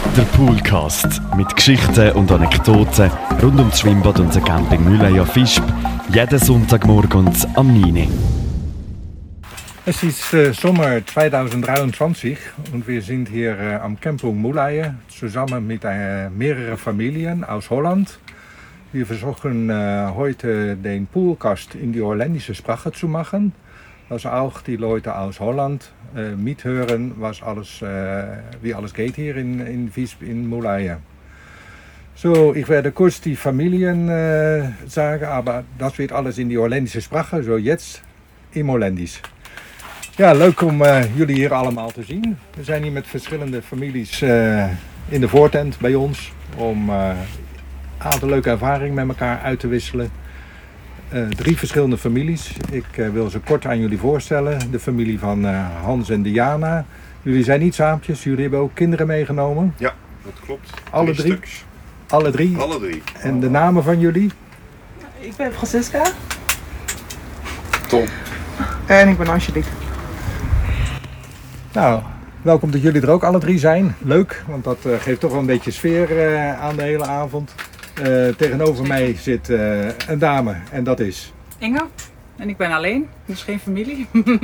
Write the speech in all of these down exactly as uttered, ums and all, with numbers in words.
Der Poolcast mit Geschichten und Anekdoten rund um das Schwimmbad und den Camping Mülleier Visp. Jeden Sonntagmorgen am neun Uhr. Es ist äh, Sommer zweitausenddreiundzwanzig und wir sind hier äh, am Camping Mülleier zusammen mit äh, mehreren Familien aus Holland. Wir versuchen äh, heute den Poolcast in die holländische Sprache zu machen, dass auch die Leute aus Holland äh, mithören, was alles, äh, wie alles geht hier in, in Visp in Mülleier. So, ich werde kurz die Familien äh, sagen, aber das wird alles in die holländische Sprache, so jetzt im Holländisch. Ja, leuk om uh, jullie hier allemaal te zien. We zijn hier met verschillende families uh, in de voortent bij ons om uh, een aantal leuke ervaringen met elkaar uit te wisselen. Uh, drie verschillende families. Ik uh, wil ze kort aan jullie voorstellen. De familie van uh, Hans en Diana. Jullie zijn niet saampjes, jullie hebben ook kinderen meegenomen. Ja, dat klopt. Alle drie? Stuks. Alle drie? Alle drie. En de namen van jullie? Ik ben Francisca. Tom. En ik ben Angelique. Nou, welkom dat jullie er ook alle drie zijn. Leuk, want dat uh, geeft toch wel een beetje sfeer uh, aan de hele avond. Uh, tegenover mij zit uh, een dame en dat is... Inge. En ik ben alleen, dus geen familie.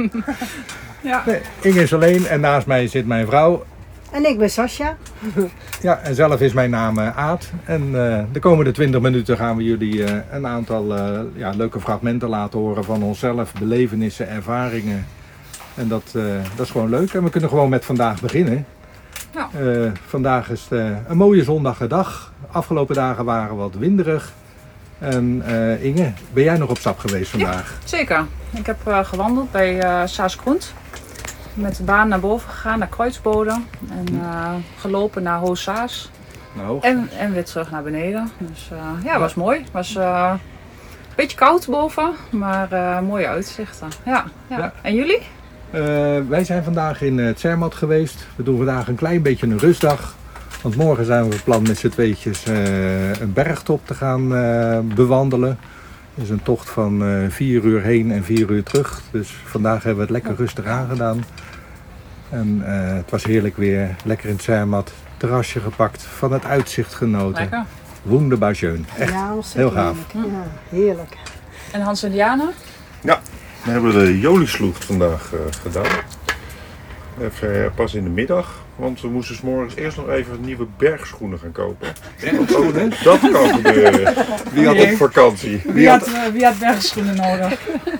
Ja. Nee, Inge is alleen en naast mij zit mijn vrouw. En ik ben Sascha. Ja, en zelf is mijn naam uh, Aad. En uh, de komende twintig minuten gaan we jullie uh, een aantal uh, ja, leuke fragmenten laten horen van onszelf. Belevenissen, ervaringen. En dat, uh, dat is gewoon leuk. En we kunnen gewoon met vandaag beginnen. Ja. Uh, vandaag is het, uh, een mooie zondagse dag. Afgelopen dagen waren wat winderig. En uh, Inge, ben jij nog op stap geweest vandaag? Ja, zeker. Ik heb uh, gewandeld bij uh, Saas-Grund. Met de baan naar boven gegaan, naar Kruisbode. En uh, gelopen naar Hoog-Saas. Nou, En, en weer terug naar beneden. Dus uh, ja, het was mooi. Het was uh, een beetje koud boven, maar uh, mooie uitzichten. Ja, ja. Ja. En jullie? Uh, wij zijn vandaag in uh, Zermatt geweest. We doen vandaag een klein beetje een rustdag. Want morgen zijn we van plan met z'n tweetjes uh, een bergtop te gaan uh, bewandelen. Het is een tocht van uh, vier uur heen en vier uur terug. Dus vandaag hebben we het lekker rustig aangedaan. En uh, het was heerlijk weer. Lekker in het Zermatt. Terrasje gepakt. Van het uitzicht genoten. Lekker. Wunderbar schön. Echt Ja, heel ontzettend gaaf. heerlijk. Ja, heerlijk. En Hans en Diana? Ja, we hebben de Jolisloeg vandaag uh, gedaan. Even uh, pas in de middag, want we moesten 's morgens eerst nog even nieuwe bergschoenen gaan kopen. Bergschoenen? Dat kan gebeuren. Wie had op vakantie? Wie had, uh, wie had bergschoenen nodig?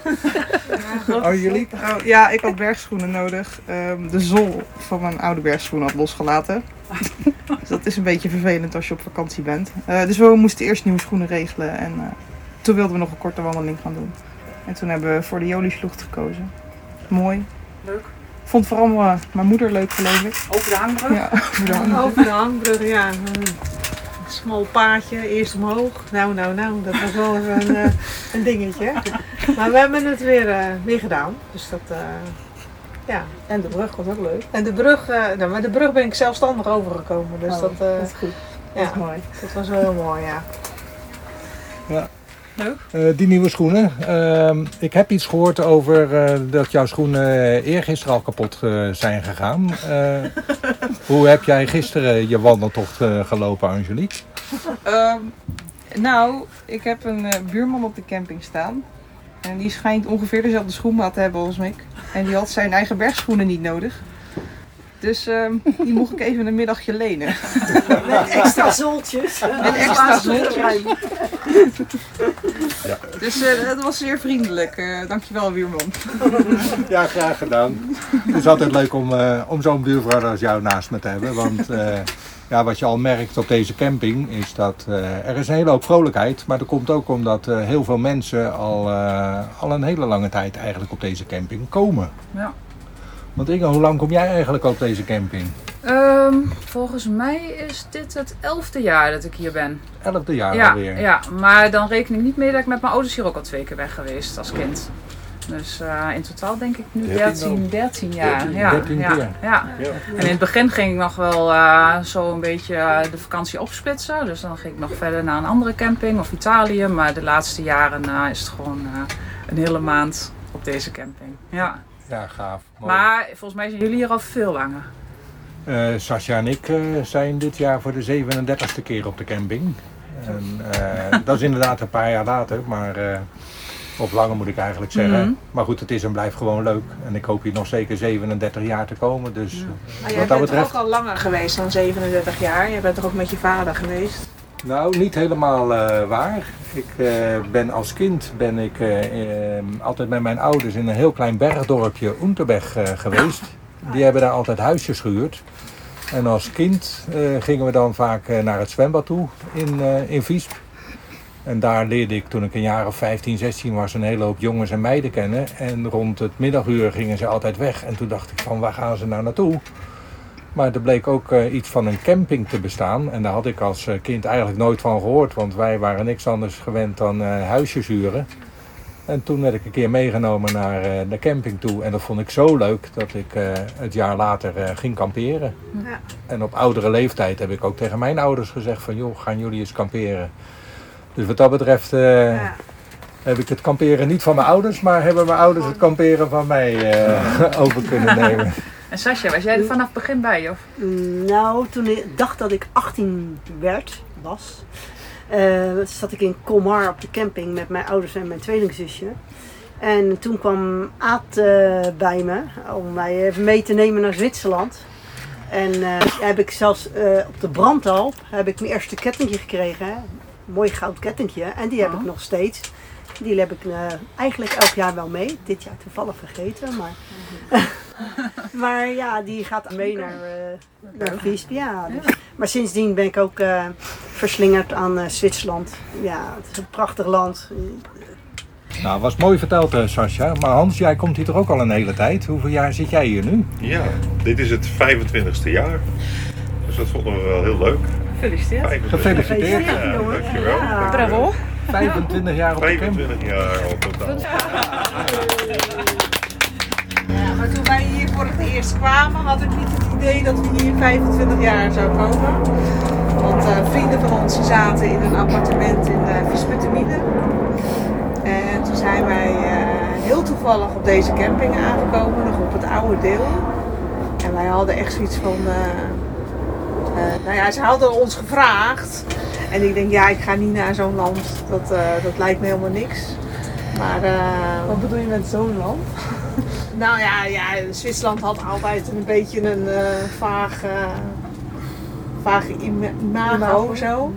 Oh, jullie? Oh, ja, ik had bergschoenen nodig. Um, de zool van mijn oude bergschoen had losgelaten. Dus dat is een beetje vervelend als je op vakantie bent. Uh, dus we moesten eerst nieuwe schoenen regelen. En uh, toen wilden we nog een korte wandeling gaan doen. En toen hebben we voor de Jolisloeg gekozen. Mooi. Leuk. Ik vond vooral uh, mijn moeder leuk, geloof ik. Over de hangbrug? Ja, over de hand. Over de hangbrug, ja. Een smal paadje, eerst omhoog. Nou, nou, nou, dat was wel even een, uh, een dingetje. Maar we hebben het weer, uh, weer gedaan. Dus dat, uh, ja. En de brug was ook leuk. En de brug, uh, nou, maar de brug ben ik zelfstandig overgekomen. Dus Oh, dat, uh, dat is goed. Dat ja, is mooi. dat was wel heel mooi, ja. Ja. Leuk. Uh, die nieuwe schoenen. Uh, ik heb iets gehoord over uh, dat jouw schoenen eergisteren al kapot uh, zijn gegaan. Uh, hoe heb jij gisteren je wandeltocht uh, gelopen, Angelique? Um, nou, ik heb een uh, buurman op de camping staan. En die schijnt ongeveer dezelfde schoenmaat te hebben als ik. En die had zijn eigen bergschoenen niet nodig. Dus um, die mocht ik even een middagje lenen. Met extra zooltjes. Met extra zooltjes. Ja. Dus uh, dat was zeer vriendelijk. Uh, dankjewel, buurman. Ja, graag gedaan. Het is altijd leuk om, uh, om zo'n buurvrouw als jou naast me te hebben. Want uh, ja, wat je al merkt op deze camping is dat uh, er is een hele hoop vrolijkheid. Maar dat komt ook omdat uh, heel veel mensen al, uh, al een hele lange tijd eigenlijk op deze camping komen. Ja. Want Inge, hoe lang kom jij eigenlijk op deze camping? Um, volgens mij is dit het elfde jaar dat ik hier ben. Elfde jaar Ja, alweer. ja, maar dan reken ik niet mee dat ik met mijn ouders hier ook al twee keer weg geweest als kind. Dus uh, in totaal denk ik nu dertien, dertien jaar. dertien, ja, dertien ja, keer. ja. Ja. En in het begin ging ik nog wel uh, zo een beetje uh, de vakantie opsplitsen. Dus dan ging ik nog verder naar een andere camping of Italië. Maar de laatste jaren uh, is het gewoon uh, een hele maand op deze camping. Ja. Ja, gaaf. Mooi. Maar volgens mij zijn jullie hier al veel langer. Uh, Sascha en ik uh, zijn dit jaar voor de zevenendertigste keer op de camping. En, uh, dat is inderdaad een paar jaar later, maar, uh, of langer moet ik eigenlijk zeggen. Mm-hmm. Maar goed, het is en blijft gewoon leuk. En ik hoop hier nog zeker zevenendertig jaar te komen. Dus, ja. uh, ah, jij bent betreft... ook al langer geweest dan zevenendertig jaar. Je bent toch ook met je vader geweest? Nou, niet helemaal uh, waar. Ik uh, ben als kind ben ik uh, uh, altijd met mijn ouders in een heel klein bergdorpje Unterberg uh, geweest. Die hebben daar altijd huisjes gehuurd. En als kind uh, gingen we dan vaak uh, naar het zwembad toe in, uh, in Visp. En daar leerde ik toen ik een jaar of vijftien, zestien was een hele hoop jongens en meiden kennen. En rond het middaguur gingen ze altijd weg. En toen dacht ik van waar gaan ze nou naartoe? Maar er bleek ook uh, iets van een camping te bestaan. En daar had ik als uh, kind eigenlijk nooit van gehoord. Want wij waren niks anders gewend dan uh, huisjes huren. En toen werd ik een keer meegenomen naar uh, de camping toe. En dat vond ik zo leuk dat ik uh, het jaar later uh, ging kamperen. Ja. En op oudere leeftijd heb ik ook tegen mijn ouders gezegd van joh, gaan jullie eens kamperen. Dus wat dat betreft uh, ja. heb ik het kamperen niet van mijn ouders. Maar hebben mijn ouders het kamperen van mij uh, over kunnen nemen. En Sascha, was jij er vanaf het begin bij? Of? Nou, toen ik dacht dat ik achttien werd, was... Uh, zat ik in Colmar op de camping met mijn ouders en mijn tweelingzusje. En toen kwam Aad uh, bij me om mij even mee te nemen naar Zwitserland. En uh, heb ik zelfs uh, op de Brandalp heb ik mijn eerste kettingje gekregen. Hè? Een mooi goud kettingje. En die heb oh. ik nog steeds. Die heb ik uh, eigenlijk elk jaar wel mee. Dit jaar toevallig vergeten. Maar, maar ja, die gaat mee naar, uh, naar Visp. Ja, dus. Maar sindsdien ben ik ook uh, verslingerd aan uh, Zwitserland. Ja, het is een prachtig land. Nou, was mooi verteld, uh, Sascha. Maar Hans, jij komt hier toch ook al een hele tijd? Hoeveel jaar zit jij hier nu? Ja, dit is het vijfentwintigste jaar. Dus dat vonden we wel heel leuk. Gefeliciteerd. Gefeliciteerd. Ja, dankjewel. Ja. Bravo. vijfentwintig jaar op de camping. vijfentwintig jaar al totaal. Ja, maar toen wij hier voor het eerst kwamen, had ik niet het idee dat we hier vijfentwintig jaar zouden komen. Want uh, vrienden van ons zaten in een appartement in uh, Visputtermine. En toen zijn wij uh, heel toevallig op deze camping aangekomen, nog op het oude deel. En wij hadden echt zoiets van... Uh, uh, nou ja, ze hadden ons gevraagd. En ik denk, ja, ik ga niet naar zo'n land. Dat, uh, dat lijkt me helemaal niks. Maar, uh, wat bedoel je met zo'n land? Nou ja, ja, Zwitserland had altijd een beetje een uh, vaag, uh, vaag ima- imago of zo.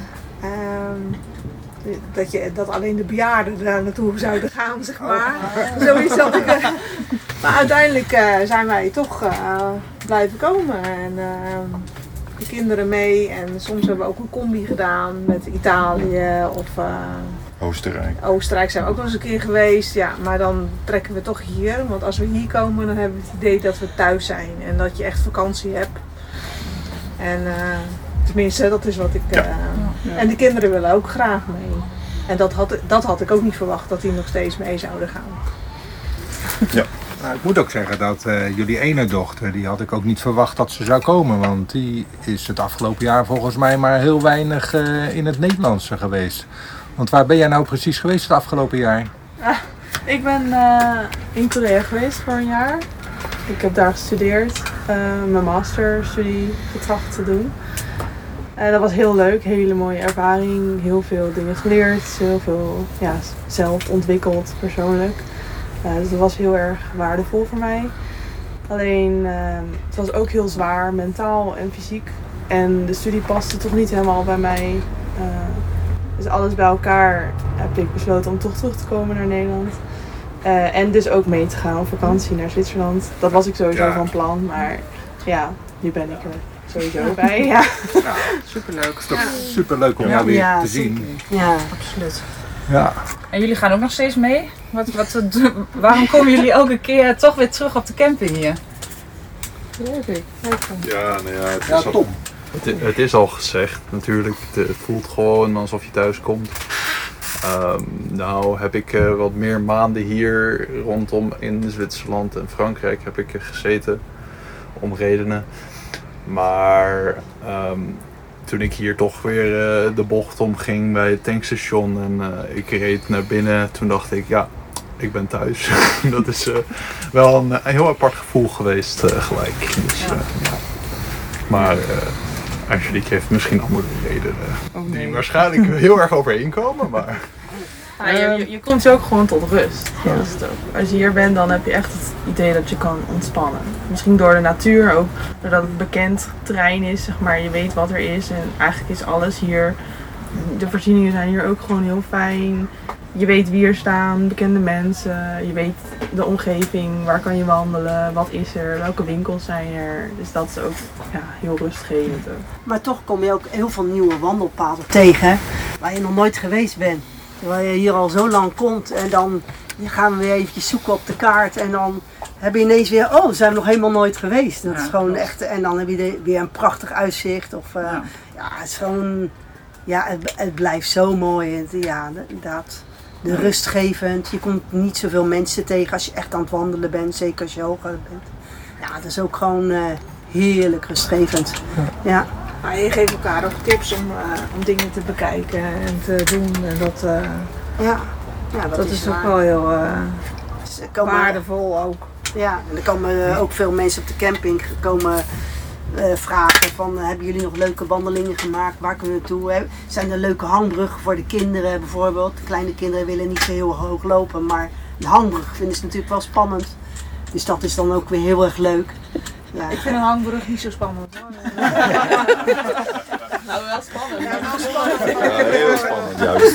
Um, dat, je, dat alleen de bejaarden daar naartoe zouden gaan, zeg maar. Oh. Zoiets had ik. Uh, maar uiteindelijk uh, zijn wij toch uh, blijven komen. En, uh, de kinderen mee. En soms hebben we ook een combi gedaan met Italië of... Uh, Oostenrijk. Oostenrijk zijn we ook nog eens een keer geweest, ja, maar dan trekken we toch hier. Want als we hier komen, dan hebben we het idee dat we thuis zijn en dat je echt vakantie hebt. En uh, tenminste, dat is wat ik... Uh, ja. Ja. En de kinderen willen ook graag mee. En dat had, dat had ik ook niet verwacht, dat die nog steeds mee zouden gaan. Ja. Nou, ik moet ook zeggen dat uh, jullie ene dochter, die had ik ook niet verwacht dat ze zou komen. Want die is het afgelopen jaar volgens mij maar heel weinig uh, in het Nederlandse geweest. Want waar ben jij nou precies geweest het afgelopen jaar? Ah, ik ben uh, in Korea geweest voor een jaar. Ik heb daar gestudeerd, uh, mijn masterstudie getracht te doen. Uh, dat was heel leuk, hele mooie ervaring, heel veel dingen geleerd, heel veel ja, zelf ontwikkeld persoonlijk. Uh, dus dat was heel erg waardevol voor mij. Alleen, uh, het was ook heel zwaar, mentaal en fysiek. En de studie paste toch niet helemaal bij mij. Uh, Dus alles bij elkaar heb ik besloten om toch terug te komen naar Nederland. Uh, en dus ook mee te gaan op vakantie naar Zwitserland. Dat was ik sowieso ja. van plan, maar ja, nu ben ik er sowieso bij. Ja. Ja, superleuk. Het is toch ja. superleuk om ja. jou weer ja, te zien. Zeker. Ja, absoluut. Ja. En jullie gaan ook nog steeds mee? Wat, wat, waarom komen jullie elke keer toch weer terug op de camping hier? Leuk. Ja, nou ja, het ja, is top. al... Het, het is al gezegd natuurlijk, het, het voelt gewoon alsof je thuis komt. Um, nou heb ik uh, wat meer maanden hier rondom in Zwitserland en Frankrijk heb ik gezeten om redenen. Maar um, toen ik hier toch weer uh, de bocht omging bij het tankstation en uh, ik reed naar binnen, toen dacht ik ja, ik ben thuis. Dat is uh, wel een, een heel apart gevoel geweest uh, gelijk. Dus, uh, ja. Maar uh, Angelique heeft misschien andere redenen. Oh nee. Die waarschijnlijk heel erg overeenkomen, maar... Ja, je, je, je komt ook gewoon tot rust. Ja. Dat is het ook. Als je hier bent, dan heb je echt het idee dat je kan ontspannen. Misschien door de natuur, ook doordat het bekend terrein is, zeg maar. Je weet wat er is en eigenlijk is alles hier. De voorzieningen zijn hier ook gewoon heel fijn. Je weet wie er staan, bekende mensen. Je weet de omgeving, waar kan je wandelen, wat is er, welke winkels zijn er. Dus dat is ook ja, heel rustgevend. Maar toch kom je ook heel veel nieuwe wandelpaden tegen waar je nog nooit geweest bent. Terwijl je hier al zo lang komt en dan gaan we weer eventjes zoeken op de kaart en dan heb je ineens weer, oh, zijn we nog helemaal nooit geweest. Dat ja, is gewoon echt, en dan heb je de, weer een prachtig uitzicht. Of, uh, ja. ja, het is gewoon, ja, het, het blijft zo mooi. Het, ja, inderdaad, de rustgevend. Je komt niet zoveel mensen tegen als je echt aan het wandelen bent, zeker als je hoger bent. Ja, het is ook gewoon uh, heerlijk rustgevend. Ja. Maar je geeft elkaar ook tips om, uh, om dingen te bekijken en te doen. En dat, uh, ja. Ja, dat, dat is, is ook wel heel uh, dus komen, waardevol ook. Ja, en er komen uh, ook veel mensen op de camping komen uh, vragen van uh, hebben jullie nog leuke wandelingen gemaakt? Waar kunnen we naartoe? Hè? Zijn er leuke hangbruggen voor de kinderen bijvoorbeeld? De kleine kinderen willen niet zo heel hoog lopen, maar de hangbrug vinden ze natuurlijk wel spannend. Dus dat is dan ook weer heel erg leuk. Ja. Ik vind een hangbrug niet zo spannend hoor. Nou, wel spannend. Ja, wel spannend. Ja, heel spannend juist.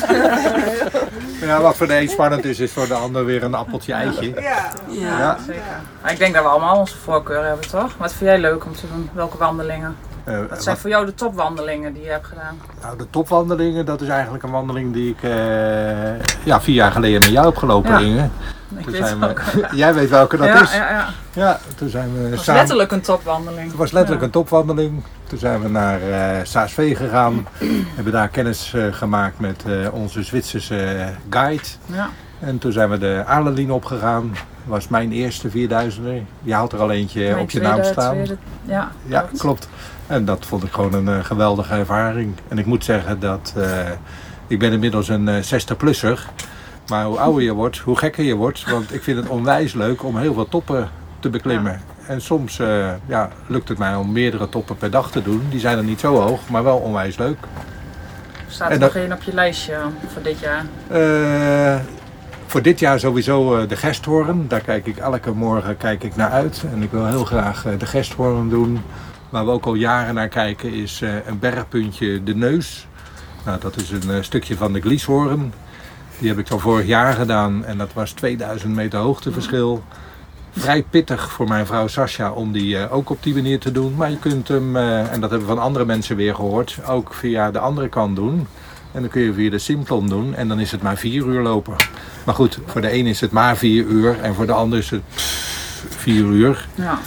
Ja, wat voor de een spannend is, is voor de ander weer een appeltje eitje. Ja, ja, ja. zeker. Maar ik denk dat we allemaal onze voorkeur hebben, toch? Wat vind jij leuk om te doen? Welke wandelingen? Uh, wat zijn wat... voor jou de topwandelingen die je hebt gedaan? Nou, de topwandelingen, dat is eigenlijk een wandeling die ik uh, ja, vier jaar geleden met jou heb gelopen, ja. Inge. Ik toen weet zijn welke. We, jij weet welke dat ja, is. Ja, ja. Ja, toen zijn we het was samen, letterlijk een topwandeling. Het was letterlijk ja. een topwandeling. Toen zijn we naar uh, Saas-Vee gegaan. Hebben daar kennis uh, gemaakt met uh, onze Zwitserse guide. Ja. En toen zijn we de Aarlelien opgegaan. Dat was mijn eerste vierduizender. Je had er al eentje mijn op je tweede, naam staan. Tweede, ja, ja, klopt. klopt. En dat vond ik gewoon een uh, geweldige ervaring. En ik moet zeggen dat uh, ik ben inmiddels een uh, zestig-plusser. Maar hoe ouder je wordt, hoe gekker je wordt. Want ik vind het onwijs leuk om heel veel toppen te beklimmen. Ja. En soms uh, ja, lukt het mij om meerdere toppen per dag te doen. Die zijn er niet zo hoog, maar wel onwijs leuk. Staat er en nog één op je lijstje voor dit jaar? Uh, voor dit jaar sowieso uh, de Gesthoorn. Daar kijk ik elke morgen kijk ik naar uit. En ik wil heel graag uh, de Gesthoorn doen. Waar we ook al jaren naar kijken is uh, een bergpuntje De Neus. Nou, dat is een uh, stukje van de Glieshoorn. Die heb ik al vorig jaar gedaan en dat was tweeduizend meter hoogteverschil. Vrij pittig voor mijn vrouw Sascha om die uh, ook op die manier te doen. Maar je kunt hem, uh, en dat hebben we van andere mensen weer gehoord, ook via de andere kant doen. En dan kun je via de Simplon doen en dan is het maar vier uur lopen. Maar goed, voor de een is het maar vier uur en voor de ander is het pff, vier uur. Ja.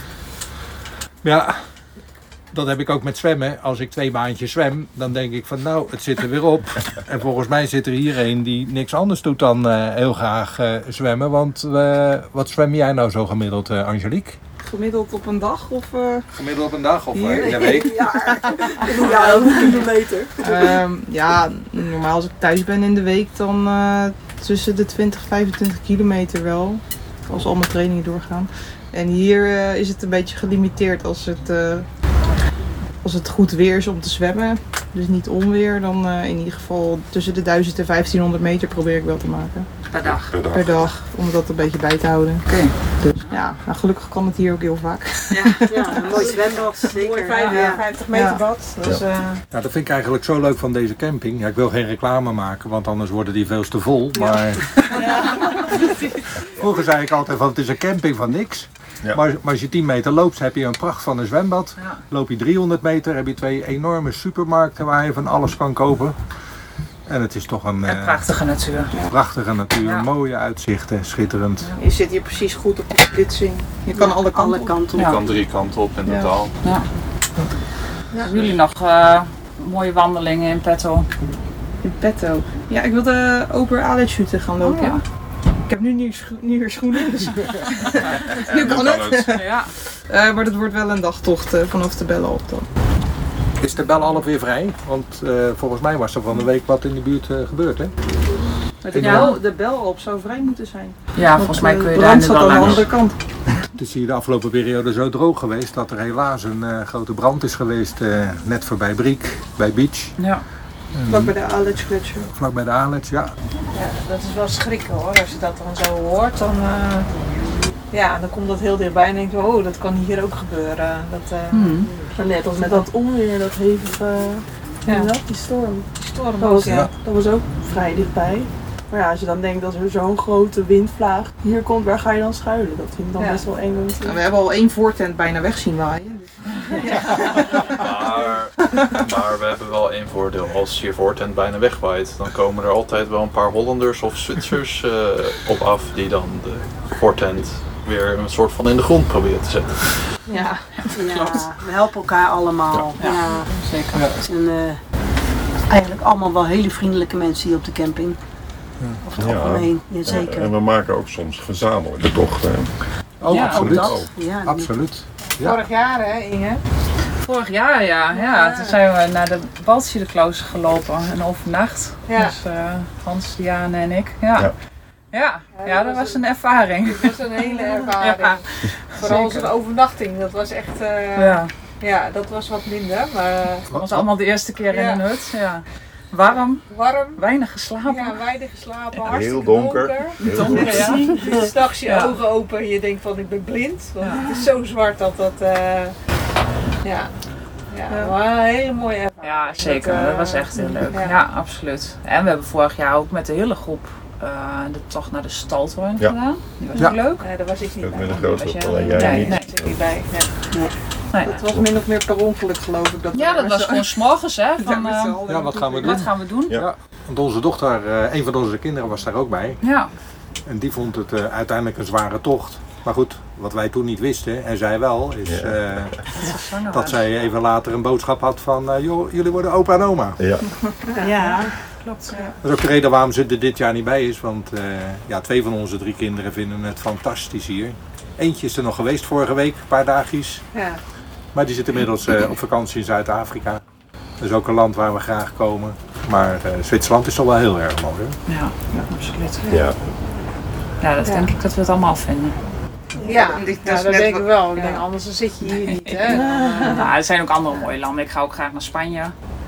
Ja. Dat heb ik ook met zwemmen. Als ik twee baantjes zwem, dan denk ik van nou, het zit er weer op. En volgens mij zit er hier een die niks anders doet dan uh, heel graag uh, zwemmen. Want uh, wat zwem jij nou zo gemiddeld, uh, Angelique? Gemiddeld op een dag of... Uh... Gemiddeld op een dag of uh, in een week? Ja, ja, een kilometer. Um, ja, normaal als ik thuis ben in de week, dan uh, tussen de twintig en vijfentwintig kilometer wel. Als al mijn trainingen doorgaan. En hier uh, is het een beetje gelimiteerd als het... Uh, Als het goed weer is om te zwemmen, dus niet onweer, dan uh, in ieder geval tussen de duizend en vijftienhonderd meter probeer ik wel te maken. Per dag? Per dag, per dag om dat een beetje bij te houden. Oké. Okay. Dus ja, nou, gelukkig kan het hier ook heel vaak. Ja, ja een mooi zwembad, zeker. Mooi vijfenvijftig meter ja. bad. Dus, ja. Uh... ja, dat vind ik eigenlijk zo leuk van deze camping. Ja, ik wil geen reclame maken, want anders worden die veel te vol. Maar ja. Vroeger zei ik altijd van het is een camping van niks. Ja. Maar, maar als je tien meter loopt, heb je een pracht van een zwembad. Ja. Loop je driehonderd meter, heb je twee enorme supermarkten waar je van alles kan kopen. En het is toch een... En prachtige natuur. Ja. Prachtige natuur, ja. Mooie uitzichten, schitterend. Ja. Je zit hier precies goed op de splitsing. Je kan ja, alle kanten alle kanten op. Je kan drie kanten op in ja. totaal. Ja. Ja. Ja. Hebben jullie nog uh, mooie wandelingen in petto? In petto? Ja, ik wilde Ober Aletschute gaan lopen. Oh, ja. Ik heb nu nieuwe scho nieuwe schoenen, dus nu kan het. Ja. Uh, maar dat wordt wel een dagtocht uh, vanaf de Bellen op dan. Is de Bellen al weer vrij? Want uh, volgens mij was er van de week wat in de buurt uh, gebeurd, hè? Met de, Ja. bel, de bel op zou vrij moeten zijn. Ja, volgens mij Want, kun eh, je daar brand nu staat wel aan de langs. andere kant. Het is hier de afgelopen periode zo droog geweest dat er helaas een uh, grote brand is geweest uh, net voorbij Briek, bij Beach. Ja. Vlak bij de Aletsch Gletscher. Vlak bij de Aletsch, ja. Ja, dat is wel schrikken hoor. Als je dat dan zo hoort, dan, uh, ja, dan komt dat heel dichtbij en denk je, oh, dat kan hier ook gebeuren. Dat, uh, Hmm. Maar net als met dat onweer, dat hevige, Ja. ja. die storm. die storm Dat ook, was, ja. Ja. dat was ook vrij dichtbij. Maar ja, als je dan denkt dat er zo'n grote windvlaag hier komt, waar ga je dan schuilen? Dat vind ik dan Ja. best wel eng. We hebben al één voortent bijna weg zien waaien. Maar, maar we hebben wel één voordeel. Als je voortent bijna wegwaait, dan komen er altijd wel een paar Hollanders of Zwitsers uh, op af die dan de voortent weer een soort van in de grond proberen te zetten. Ja. Ja, we helpen elkaar allemaal. Ja. Ja. Zeker. Het zijn uh, eigenlijk allemaal wel hele vriendelijke mensen hier op de camping. Over het Ja. algemeen, ja, zeker. En we maken ook soms gezamenlijke tochten. Oh, Ja, absoluut. Ook dat. Ja, Absoluut. Ja. Vorig jaar hè, Inge? Vorig jaar, ja. ja. Toen zijn we naar de Baltschiedeklooster gelopen en overnacht. Ja. Dus uh, Hans, Diane en ik. Ja. Ja. Ja. Ja, ja, dat was een ervaring. Dat was een hele ervaring. Ja. Vooral Zeker. zo'n overnachting, dat was echt, uh, Ja. ja, dat was wat minder, maar uh, Dat was allemaal de eerste keer Ja. in een hut. Ja. Warm, warm. weinig geslapen. Ja, weinig geslapen, Heel hartstikke donker. donker. Heel Donker, donker. ja. Dus s'nachts je Ja. ogen open en je denkt van ik ben blind. Want Ja. het is zo zwart dat dat, uh, ja. Ja, Ja. maar een hele mooie ervaring. Ja, zeker. Dat, uh, Dat was echt heel leuk. ja. Ja, absoluut. En we hebben vorig jaar ook met de hele groep uh, de tocht naar de Staltoren Ja. gedaan. Die was Ja. ook leuk. Nee, daar was ik niet Ook bij. met een Was grote jij- alleen jij Nee, niet. nee. Daar zit ik niet bij. Nee. Nee. Dat was min of meer per ongeluk geloof ik. Dat Ja, we dat was zo- gewoon 's morgens, hè. Van, met z'n uh, allen Ja, wat gaan we doen? wat gaan we doen? Ja. Ja. Want onze dochter, uh, een van onze kinderen was daar ook bij. Ja. En die vond het uh, uiteindelijk een zware tocht. Maar goed, wat wij toen niet wisten, en zij wel, is Ja. uh, Zwanger dat was. zij even later een boodschap had van, uh, joh, jullie worden opa en oma. Ja. Ja, Klopt. Dat is ook de reden waarom ze er dit jaar niet bij is, want uh, ja, twee van onze drie kinderen vinden het fantastisch hier. Eentje is er nog geweest vorige week, een paar dagjes. Ja. Maar die zit inmiddels uh, op vakantie in Zuid-Afrika. Dat is ook een land waar we graag komen. Maar uh, Zwitserland is toch wel heel erg mooi, hoor. Ja, ja, absoluut. Ja. Ja, dat Ja. denk ik dat we het allemaal vinden. Ja, Dit ja, is dat net denk wat- ik wel. Ik ja. denk, anders dan zit je hier niet. Hè. Nou, er zijn ook andere mooie landen. Ik ga ook graag naar Spanje.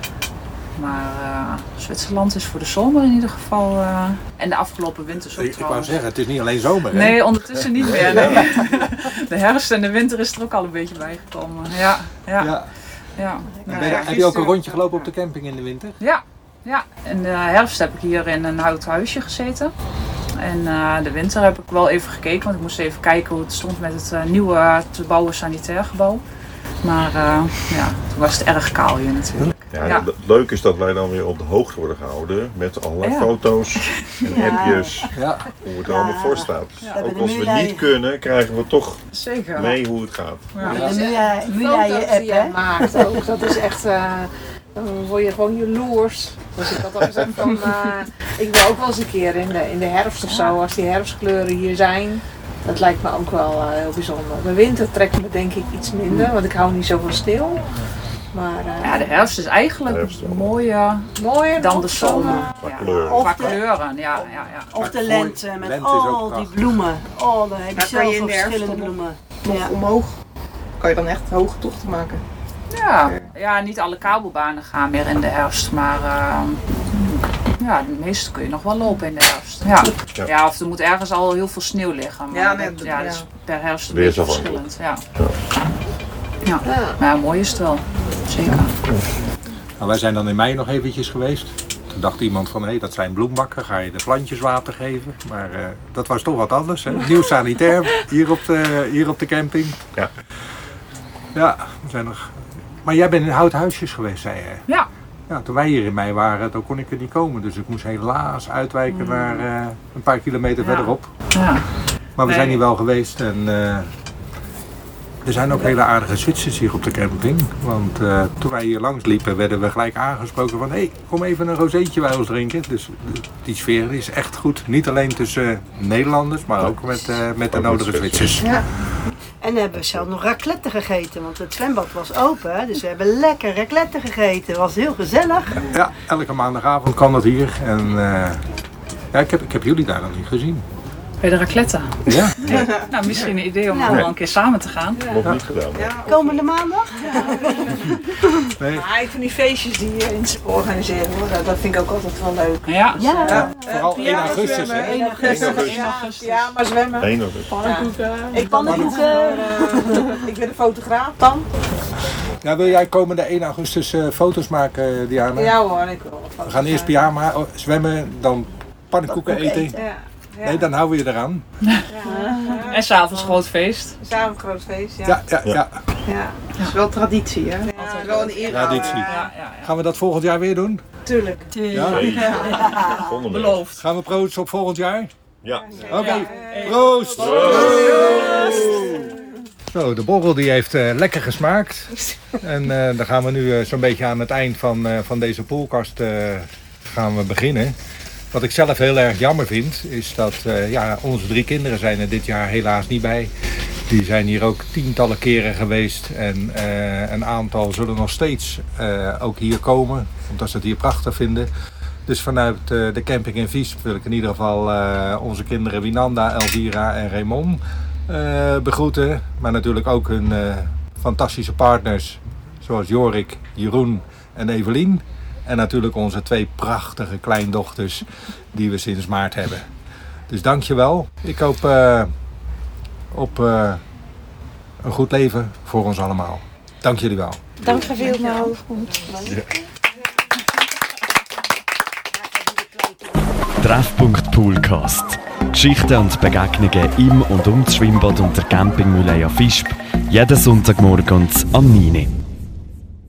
Maar uh, Zwitserland is voor de zomer in ieder geval. Uh, en de afgelopen winters ook Ik, ik wou trouwens. zeggen, het is niet alleen zomer, hè? Nee, ondertussen niet meer. Nee. De herfst en de winter is er ook al een beetje bijgekomen. Ja, ja, ja. Ja. ja. Ben je- heb je ook een rondje gelopen op de camping in de winter? Ja, ja. In de herfst heb ik hier in een houten huisje gezeten. En uh, de winter heb ik wel even gekeken, want ik moest even kijken hoe het stond met het uh, nieuwe te bouwen sanitair gebouw. Maar uh, ja, toen was het erg kaal hier natuurlijk. Ja, Ja. Het leuke is dat wij dan weer op de hoogte worden gehouden met allerlei Ja. foto's en Ja. appjes, Ja. hoe het er Ja. allemaal voor staat. Dus hebben ook de als we Mulai- niet kunnen, krijgen we toch Zeker. mee hoe het gaat. Ja. de Ja. Mulai- Die Mulai foto's app, die jij hè? maakt ook, dat is echt, uh, dan word je gewoon jaloers. Dus ik had al gezegd van, uh, ik wil ook wel eens een keer in de, in de herfst of zo, als die herfstkleuren hier zijn. Dat lijkt me ook wel uh, heel bijzonder. De winter trekt me denk ik iets minder, want ik hou niet zo van stil. Maar uh, Ja, de herfst is eigenlijk De herfst wel. mooier mooier dan nog de zomer. Qua Ja. kleuren. Of Qua de- kleuren, ja, ja, ja. Of de Mooi. lente met Lente is ook al die prachtig. bloemen. Oh, dan heb je Daar kan je zelf in ook de herfst verschillende nog- bloemen. Nog Ja. omhoog. Kan je dan echt hoge tochten maken. Ja, ja, niet alle kabelbanen gaan meer in de herfst, maar uh, ja, de meeste kun je nog wel lopen in de herfst. Ja, Ja. ja of er moet ergens al heel veel sneeuw liggen. Maar Ja, nee, dat, dat- ja, ja. dat is per herfst een beetje Weersafhankelijk. verschillend. Ja. Ja. Ja. Maar ja, mooi is het wel. Zeker. Nou, wij zijn dan in mei nog eventjes geweest. Toen dacht iemand van, hé, hey, dat zijn bloembakken, ga je de plantjes water geven? Maar uh, dat was toch wat anders, hè? Nieuw sanitair hier op de, hier op de camping. Ja. Ja, we zijn nog... Maar jij bent in houthuisjes geweest, zei je? Ja. Ja, toen wij hier in mei waren, toen kon ik er niet komen. Dus ik moest helaas uitwijken naar uh, een paar kilometer Ja. verderop. Ja. Maar we Nee. zijn hier wel geweest en uh, er zijn ook hele aardige Zwitsers hier op de camping. Want uh, toen wij hier langs liepen werden we gelijk aangesproken van hé, hey, kom even een rozeetje bij ons drinken. Dus uh, die sfeer is echt goed. Niet alleen tussen uh, Nederlanders, maar ook met, uh, met de Ook met nodige Zwitsers. Zwitsers. Ja. En hebben we zelf nog raclette gegeten, want het zwembad was open. Dus we hebben lekker raclette gegeten. Het was heel gezellig. Ja, elke maandagavond kan dat hier. En uh, Ja, ik heb, ik heb jullie daar nog niet gezien. Bij de raclette. Ja? Ja. Nou, misschien een idee om Ja. wel een keer samen te gaan. Nog niet gedaan. Komende maandag? Nee. Maar ik vind die feestjes die je in organiseren, hoor, dat, dat vind ik ook altijd wel leuk. Ja. Ja. Ja, vooral één augustus, hè? één augustus. Ja, ja, maar zwemmen. Eén augustus. Pannenkoeken. Ik pannenkoeken. Ik ben een fotograaf dan. Ja, wil jij komende één augustus uh, foto's maken, Diana? Ja hoor, ik wil. We gaan eerst pyjama oh, zwemmen, dan pannenkoeken eten. Ja. Ja. Nee, dan houden we je eraan. Ja. En s'avonds groot feest. Samen groot feest, ja. Ja, ja, ja. Ja. Dat is wel traditie, hè? Ja, wel een eer. Traditie. Ja, ja, ja. Gaan we dat volgend jaar weer doen? Tuurlijk. Ja? Nee. Volgende week. Beloofd. Gaan we proosten op volgend jaar? Ja. Oké, proost! Zo, de borrel die heeft uh, lekker gesmaakt. En uh, dan gaan we nu uh, zo'n beetje aan het eind van, uh, van deze poolkast uh, gaan we beginnen. Wat ik zelf heel erg jammer vind, is dat uh, ja, onze drie kinderen zijn er dit jaar helaas niet bij. Die zijn hier ook tientallen keren geweest en uh, een aantal zullen nog steeds uh, ook hier komen, omdat ze het hier prachtig vinden. Dus vanuit uh, de camping in Viesp wil ik in ieder geval uh, onze kinderen Winanda, Elvira en Raymond uh, begroeten. Maar natuurlijk ook hun uh, fantastische partners zoals Jorik, Jeroen en Evelien. En natuurlijk onze twee prachtige kleindochters die we sinds maart hebben. Dus dankjewel. Ik hoop uh, op uh, een goed leven voor ons allemaal. Dank jullie wel. Dank je veel. Treffpunkt Poolcast. Geschichten und Begegnungen im und um das Schwimmbad und der Campingmühle Fischb. Jeden Sonntagmorgen am neun Uhr.